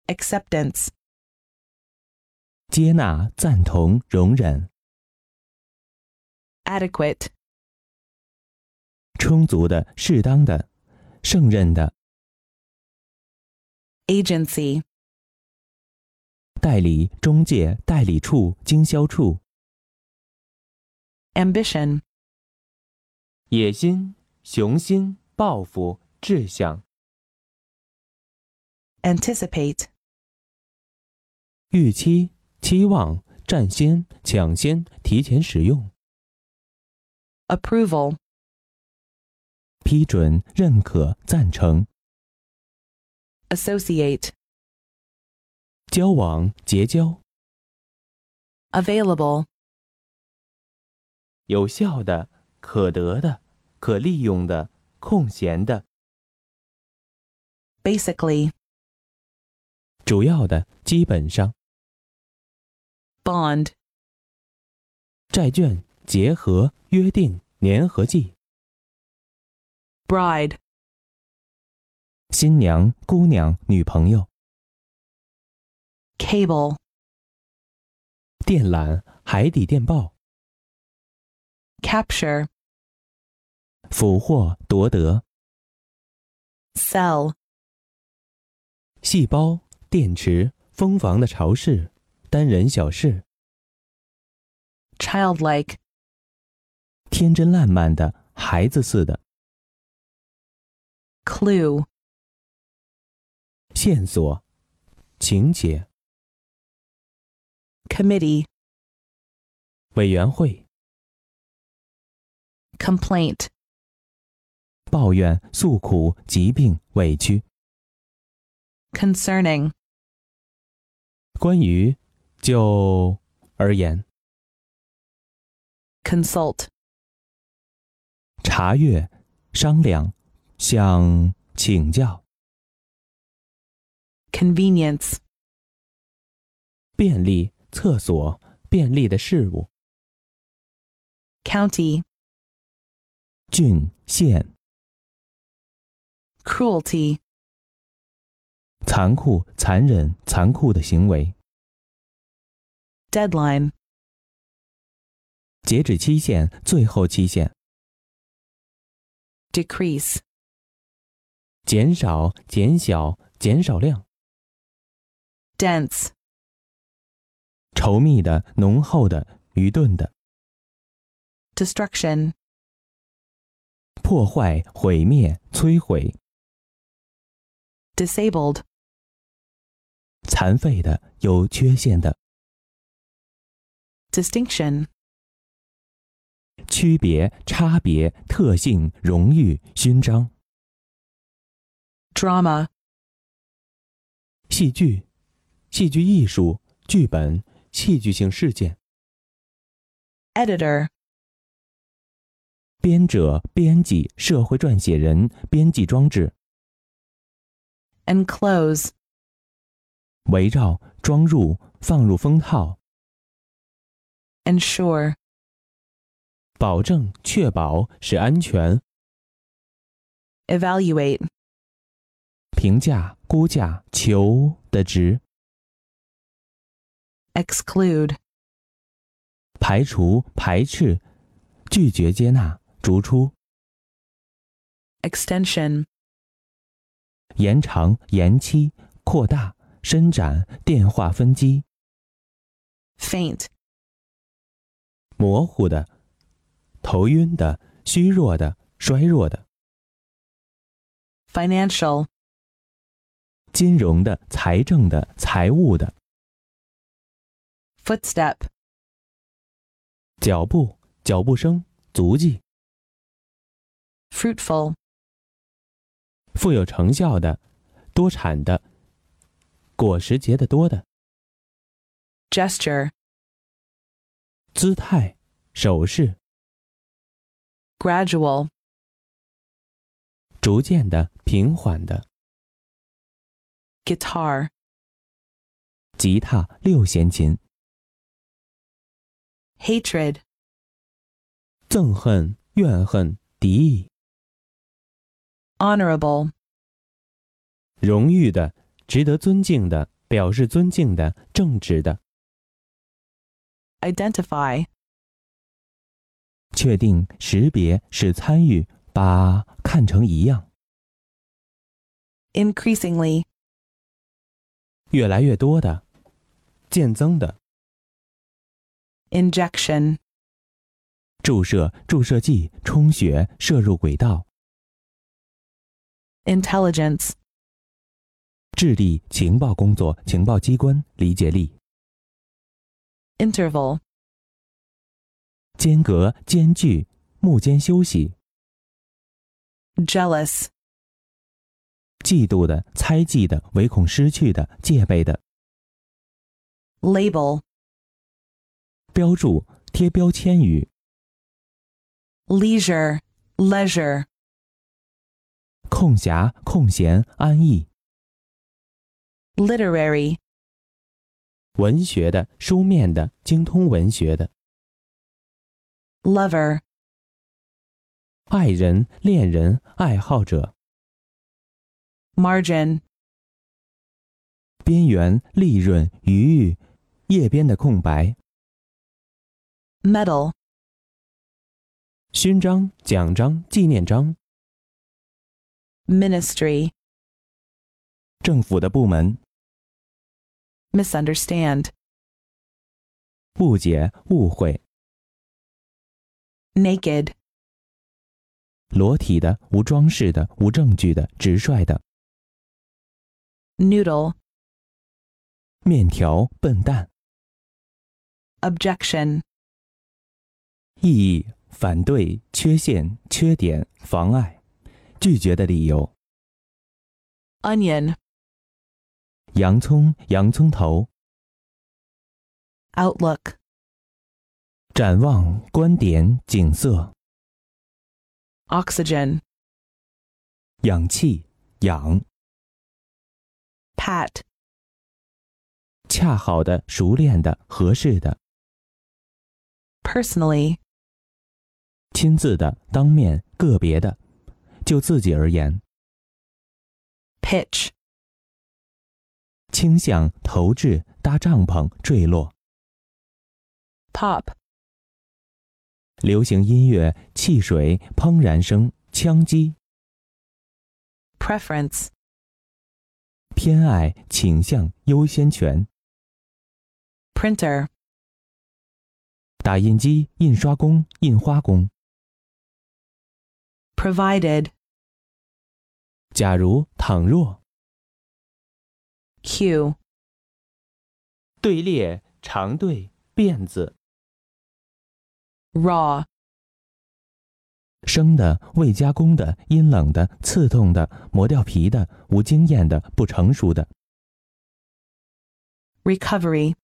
acceptance, 接纳、赞同、容忍， adequate, 充足的、适当的、胜任的， agency, 代理、中介、代理处、经销处， ambition, 野心、雄心、抱负、志向， anticipate, 预期、期望、占先、抢先、提前使用， approval, 批准、认可、赞成， associate, 交往、结交， available, 有效的、可得的、可利用的、空闲的， basically, 主要的、基本上， bond, 债券、结合、约定、粘合剂， bride, 新娘、姑娘、女朋友， cable, 电缆、海底电报， capture, 俘获、夺得， cell, 细胞、电池、蜂房的巢室、单人小室， childlike, 天真烂漫的、孩子似的， clue, 线索、情节， committee, 委员会， complaint, 抱怨、诉苦、疾病、委屈， concerning, 关于就而言， consult, 查阅、商量、向请教， convenience, 便利、厕所、便利的事物， county, 郡、县， cruelty, 残酷、残忍、残酷的行为， deadline, 截止期限、最后期限， decrease, 减少、减小、减少量， dense, 稠密的、浓厚的、愚钝的， destruction, 破坏、毁灭、摧毁， disabled, 残废的、有缺陷的， distinction, 区别、差别、特性、荣誉、勋章， drama, 戏剧、戏剧艺术、剧本、戏剧性事件， editor, 编者、编辑、社会撰写人、编辑装置， enclose, 围绕、装入、放入封套， ensure, 保证、确保、使安全， evaluate, 评价、估价、求的值， exclude, 排除、排斥、拒绝接纳、逐出， extension, 延长、延期、扩大、伸展、电话分机， faint, 模糊的、头晕的、虚弱的、衰弱的， financial, 金融的、财政的、财务的， footstep, 脚步、脚步声、足迹， fruitful, 富有成效的、多产的、果实结得多的， gesture, 姿态、手势， gradual, 逐渐的、平缓的， guitar, 吉他、六弦琴， hatred, 憎恨、怨恨、敌意， honorable, 荣誉的、值得尊敬的、 表示尊敬的、正直的。 identify, 确定、识别、使参与，把看成一样。 increasingly, 越来越多的，渐增的。 injection, 注射、注射剂、充血、射入轨道。 intelligence, 智力、情报工作、情报机关、理解力。 interval, 间隔、间距、幕间休息。 jealous, 嫉妒的、猜忌的、唯恐失去的、戒备的。 label, 标注、贴标签语。 leisure, leisure, 空暇、空闲、安逸。 literary, 文学的、书面的、精通文学的。 lover, 爱人、恋人、爱好者。 margin, 边缘、利润、余裕、页边的空白。 medal, 勋章、奖章、纪念章。 ministry, 政府的部门。 misunderstand, 误解、误会。 naked, 裸体的、无装饰的、无证据的、直率的。 noodle, 面条、笨蛋。 objection, 异议、反对、缺陷、缺点、妨碍、拒绝的理由。 onion, 洋葱、洋葱头。 outlook, 展望、观点、景色。 oxygen, 氧气、氧。 pat, 恰好的、熟练的、合适的。 personally, 亲自的、当面、个别的，就自己而言。 pitch, 倾向、投掷、搭帐篷、坠落。 pop, 流行音乐、汽水、怦然声、枪击。 preference, 偏爱、倾向、优先权。 printer, 打印机、印刷工、印花工。 provided, 假如、倘若。 cue, 队列、长队、辫子。 raw, 生的、未加工的、阴冷的、刺痛的、磨掉皮的、无经验的、不成熟的。 recovery,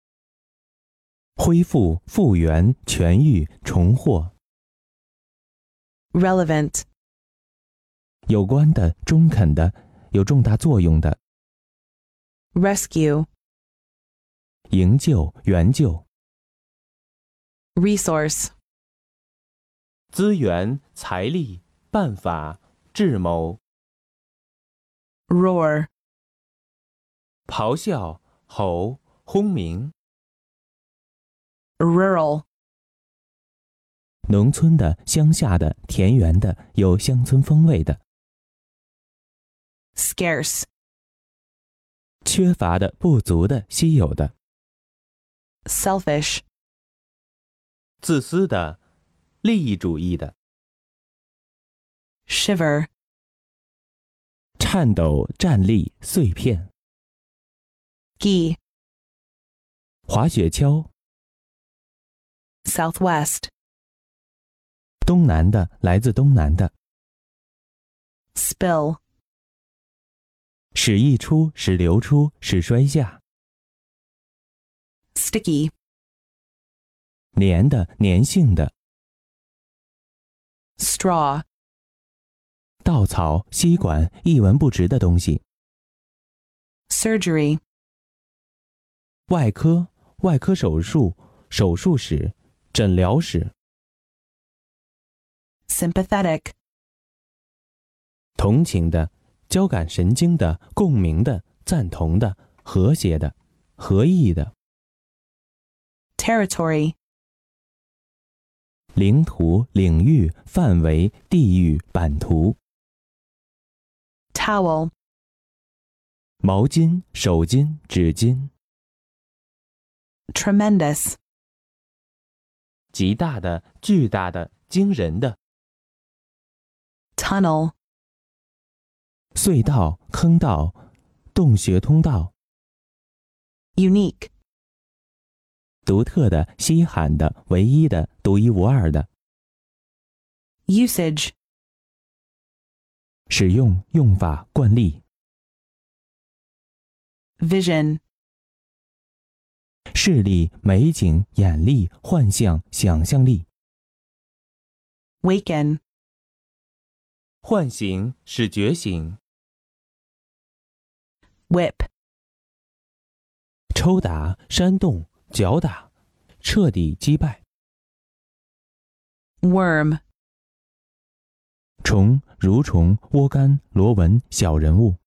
恢复、复原、痊愈、重获。 relevant, 有关的、中肯的、有重大作用的。 rescue, 营救、援救。 resource, 资源、财力、办法、智谋。 roar, 咆哮、吼、轰鸣。 rural, 农村的、乡下的、田园的、有乡村风味的。 scarce, 缺乏的、不足的、稀有的。 selfish, 自私的、利益主义的。 shiver, 颤抖、站立、碎片。 ski, 滑雪橇。 southwest, 东南的，来自东南的。 spill, 使溢出，使流出，使摔下。 sticky, 粘的，粘性的。 straw, 稻草、吸管，一文不值的东西。 surgery, 外科、外科手术、手术室、诊疗室。 sympathetic, 同情的、交感神经的、共鸣的、赞同的、 和谐的、合意的。 territory, 领土、领域、范围、地域、版图。 towel, 毛巾、手巾、纸巾。 tremendous, 极大的、巨大的、惊人的。 tunnel, 隧道、坑道、洞穴通道。 unique, 独特的、稀罕的、唯一的、独一无二的。 usage, 使用、用法、惯例。 vision, 视力、美景、眼力、幻象、想象力。 waken, 唤醒，使觉醒。 whip, 抽打、煽动、搅打，彻底击败。 worm, 虫、蠕虫、窝柑、螺纹、小人物。